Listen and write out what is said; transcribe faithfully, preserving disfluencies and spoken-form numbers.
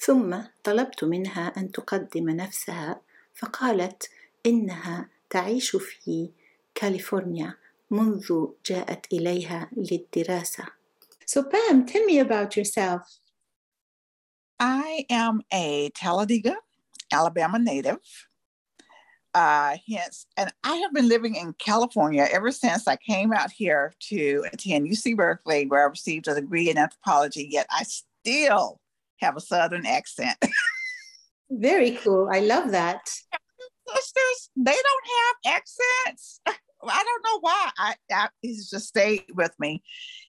ثم طلبت منها أن تقدم نفسها، فقالت إنها تعيش في كاليفورنيا منذ جاءت إليها للدراسة. So Pam, tell me about yourself. I am a Talladega, Alabama native. Uh, hence, and I have been living in California ever since I came out here to attend U C Berkeley, where I received a degree in anthropology, yet I still have a Southern accent. Very cool. I love that. Sisters, they don't have accents. I don't know why. I, I it's just stayed with me.